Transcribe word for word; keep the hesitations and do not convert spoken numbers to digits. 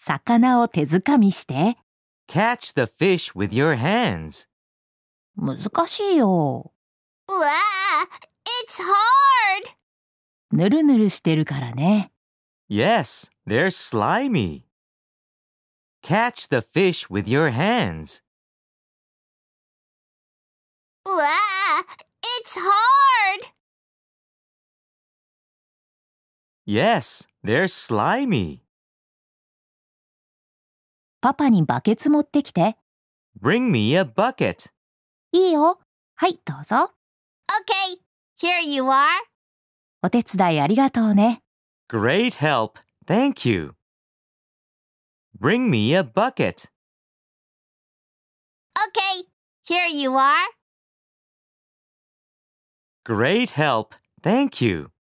魚を手づかみして。 Catch the fish with your hands. 難しいよ。 うわあ、it's hard! ぬるぬるしてるからね。 Yes, they're slimy. Catch the fish with your hands. うわあ、it's hard! Yes, they're slimy. パパにバケツ持ってきて。 Bring me a bucket. いいよ。はい、どうぞ。 Okay, here you are. お手伝いありがとうね。 Great help. Thank you. Bring me a bucket. Okay, here you are. Great help. Thank you.